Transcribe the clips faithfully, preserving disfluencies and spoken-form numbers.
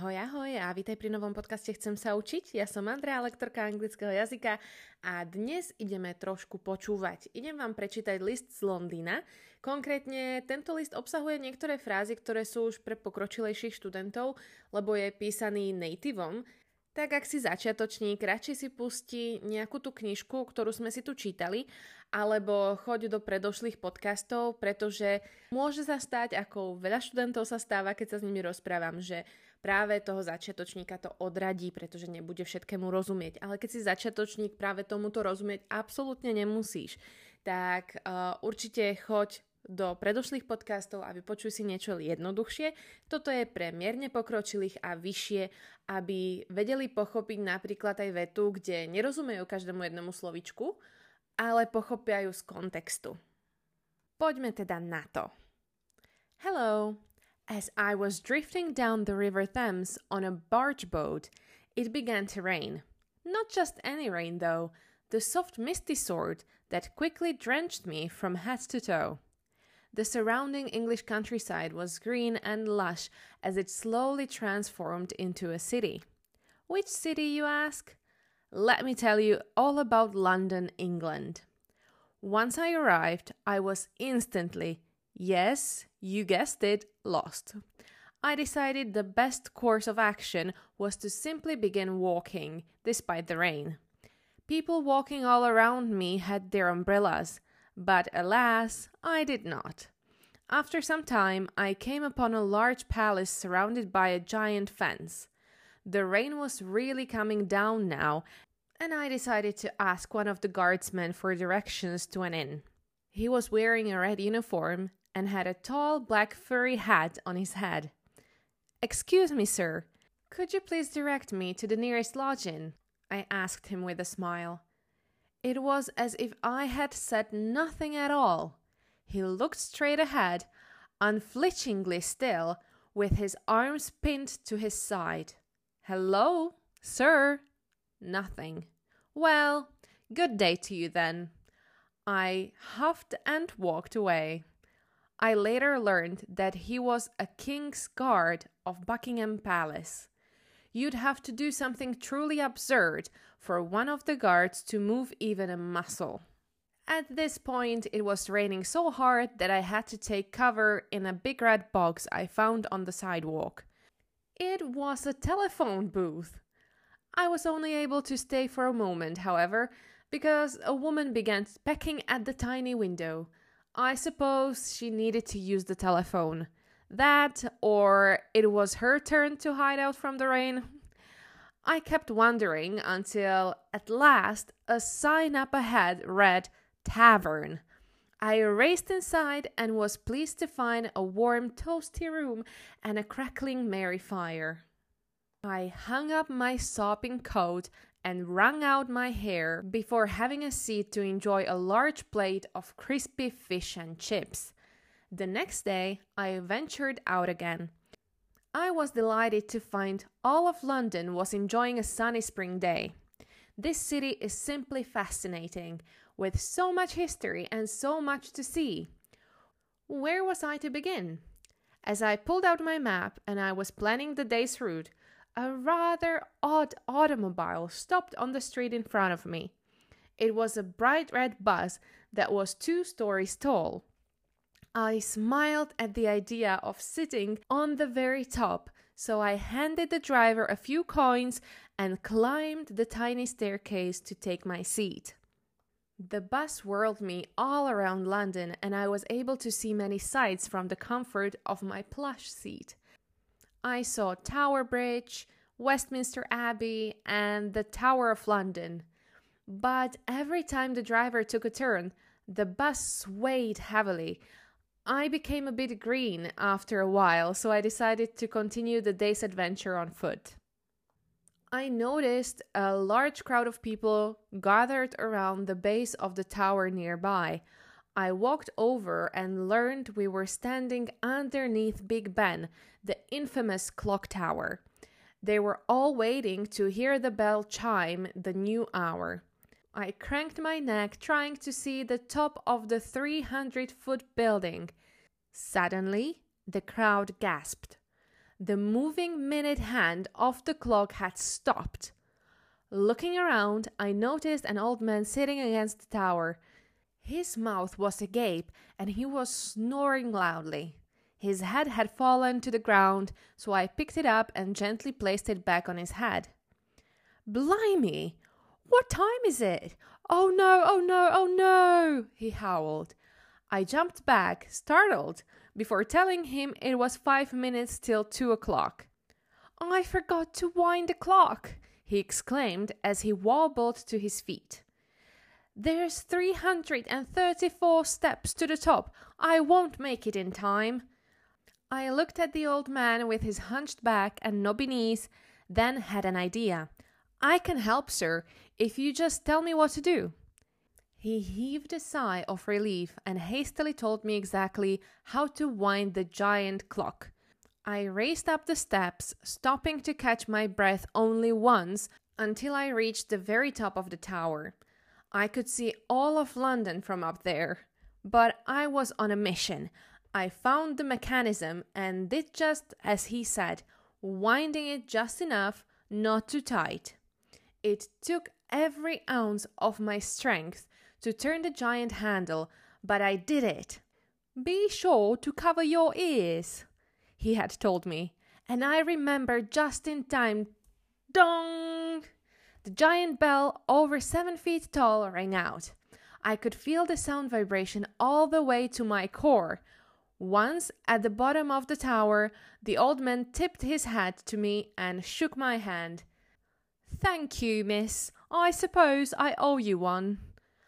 Ahoj, ahoj a vítaj pri novom podcaste Chcem sa učiť. Ja som Andrea, lektorka anglického jazyka a dnes ideme trošku počúvať. Idem vám prečítať list z Londýna. Konkrétne tento list obsahuje niektoré frázy, ktoré sú už pre pokročilejších študentov, lebo je písaný nativom. Tak ak si začiatočník, radšej si pustí nejakú tú knižku, ktorú sme si tu čítali, alebo choď do predošlých podcastov, pretože môže sa stať, ako veľa študentov sa stáva, keď sa s nimi rozprávam, že práve toho začiatočníka to odradí, pretože nebude všetkému rozumieť. Ale keď si začiatočník, práve tomuto rozumieť absolútne nemusíš. Tak uh, určite choď do predošlých podcastov a vypočuj si niečo jednoduchšie. Toto je pre mierne pokročilých a vyššie, aby vedeli pochopiť napríklad aj vetu, kde nerozumejú každému jednomu slovičku, ale pochopia ju z kontextu. Poďme teda na to. Hello. As I was drifting down the River Thames on a barge boat, it began to rain. Not just any rain though, the soft misty sort that quickly drenched me from head to toe. The surrounding English countryside was green and lush as it slowly transformed into a city. Which city, you ask? Let me tell you all about London, England. Once I arrived, I was instantly, yes, you guessed it, lost. I decided the best course of action was to simply begin walking, despite the rain. People walking all around me had their umbrellas, but alas, I did not. After some time, I came upon a large palace surrounded by a giant fence. The rain was really coming down now, and I decided to ask one of the guardsmen for directions to an inn. He was wearing a red uniform and had a tall black furry hat on his head. "Excuse me, sir, could you please direct me to the nearest lodging?" I asked him with a smile. It was as if I had said nothing at all. He looked straight ahead, unflinchingly still, with his arms pinned to his side. "Hello, sir?" Nothing. "Well, good day to you then." I huffed and walked away. I later learned that he was a king's guard of Buckingham Palace. You'd have to do something truly absurd for one of the guards to move even a muscle. At this point, it was raining so hard that I had to take cover in a big red box I found on the sidewalk. It was a telephone booth. I was only able to stay for a moment, however, because a woman began pecking at the tiny window. I suppose she needed to use the telephone. That, or it was her turn to hide out from the rain. I kept wondering until, at last, a sign up ahead read "Tavern." I raced inside and was pleased to find a warm, toasty room and a crackling merry fire. I hung up my sopping coat and wrung out my hair before having a seat to enjoy a large plate of crispy fish and chips. The next day, I ventured out again. I was delighted to find all of London was enjoying a sunny spring day. This city is simply fascinating, with so much history and so much to see. Where was I to begin? As I pulled out my map and I was planning the day's route, a rather odd automobile stopped on the street in front of me. It was a bright red bus that was two stories tall. I smiled at the idea of sitting on the very top, so I handed the driver a few coins and climbed the tiny staircase to take my seat. The bus whirled me all around London, and I was able to see many sights from the comfort of my plush seat. I saw Tower Bridge, Westminster Abbey, and the Tower of London. But every time the driver took a turn, the bus swayed heavily. I became a bit green after a while, so I decided to continue the day's adventure on foot. I noticed a large crowd of people gathered around the base of the tower nearby. I walked over and learned we were standing underneath Big Ben, the infamous clock tower. They were all waiting to hear the bell chime the new hour. I cranked my neck trying to see the top of the three hundred foot building. Suddenly, the crowd gasped. The moving minute hand of the clock had stopped. Looking around, I noticed an old man sitting against the tower. His mouth was agape and he was snoring loudly. His head had fallen to the ground, so I picked it up and gently placed it back on his head. "Blimey! What time is it? Oh no, oh no, oh no!" he howled. I jumped back, startled, before telling him it was five minutes till two o'clock. "I forgot to wind the clock," he exclaimed as he wobbled to his feet. "There's three hundred and thirty-four steps to the top. I won't make it in time." I looked at the old man with his hunched back and knobby knees, then had an idea. "I can help, sir, if you just tell me what to do." He heaved a sigh of relief and hastily told me exactly how to wind the giant clock. I raced up the steps, stopping to catch my breath only once until I reached the very top of the tower. I could see all of London from up there, but I was on a mission. I found the mechanism and did just as he said, winding it just enough, not too tight. It took every ounce of my strength to turn the giant handle, but I did it. "Be sure to cover your ears," he had told me, and I remembered just in time. Dong! The giant bell, over seven feet tall, rang out. I could feel the sound vibration all the way to my core. Once at the bottom of the tower, the old man tipped his hat to me and shook my hand. "Thank you, miss. I suppose I owe you one."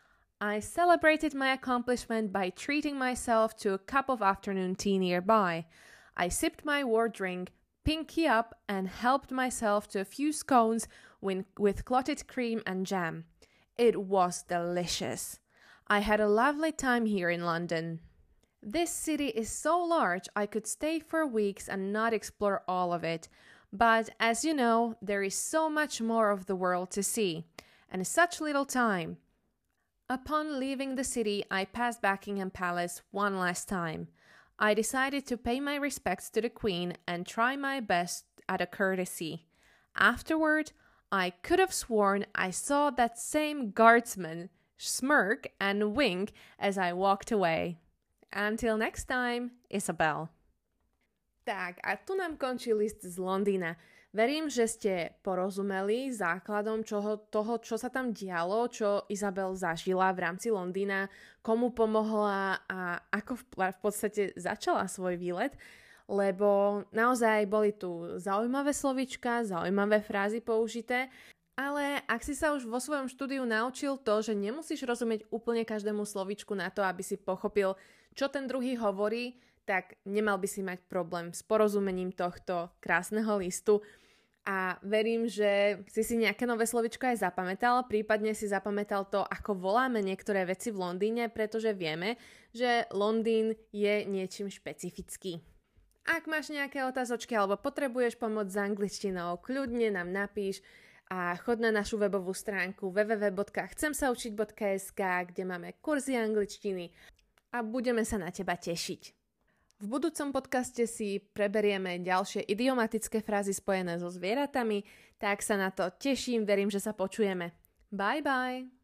I celebrated my accomplishment by treating myself to a cup of afternoon tea nearby. I sipped my war drink, pinky up, and helped myself to a few scones with, with clotted cream and jam. It was delicious. I had a lovely time here in London. This city is so large I could stay for weeks and not explore all of it. But as you know, there is so much more of the world to see, and such little time. Upon leaving the city, I passed Buckingham Palace one last time. I decided to pay my respects to the Queen and try my best at a courtesy. Afterward, I could have sworn I saw that same guardsman smirk and wink as I walked away. Until next time, Isabel. Tak, a tu nám končí list z Londýna. Verím, že ste porozumeli základom čoho, toho, čo sa tam dialo, čo Isabel zažila v rámci Londýna, komu pomohla a ako v, v podstate začala svoj výlet, lebo naozaj boli tu zaujímavé slovíčka, zaujímavé frázy použité, ale ak si sa už vo svojom štúdiu naučil to, že nemusíš rozumieť úplne každému slovíčku na to, aby si pochopil, čo ten druhý hovorí, tak nemal by si mať problém s porozumením tohto krásneho listu. A verím, že si si nejaké nové slovičko aj zapamätal, prípadne si zapamätal to, ako voláme niektoré veci v Londýne, pretože vieme, že Londýn je niečím špecifický. Ak máš nejaké otázočky alebo potrebuješ pomoc s angličtinou, kľudne nám napíš a chod na našu webovú stránku w w w bodka chcem sa učiť bodka es ká, kde máme kurzy angličtiny a budeme sa na teba tešiť. V budúcom podcaste si preberieme ďalšie idiomatické frázy spojené so zvieratami, tak sa na to teším, verím, že sa počujeme. Bye bye!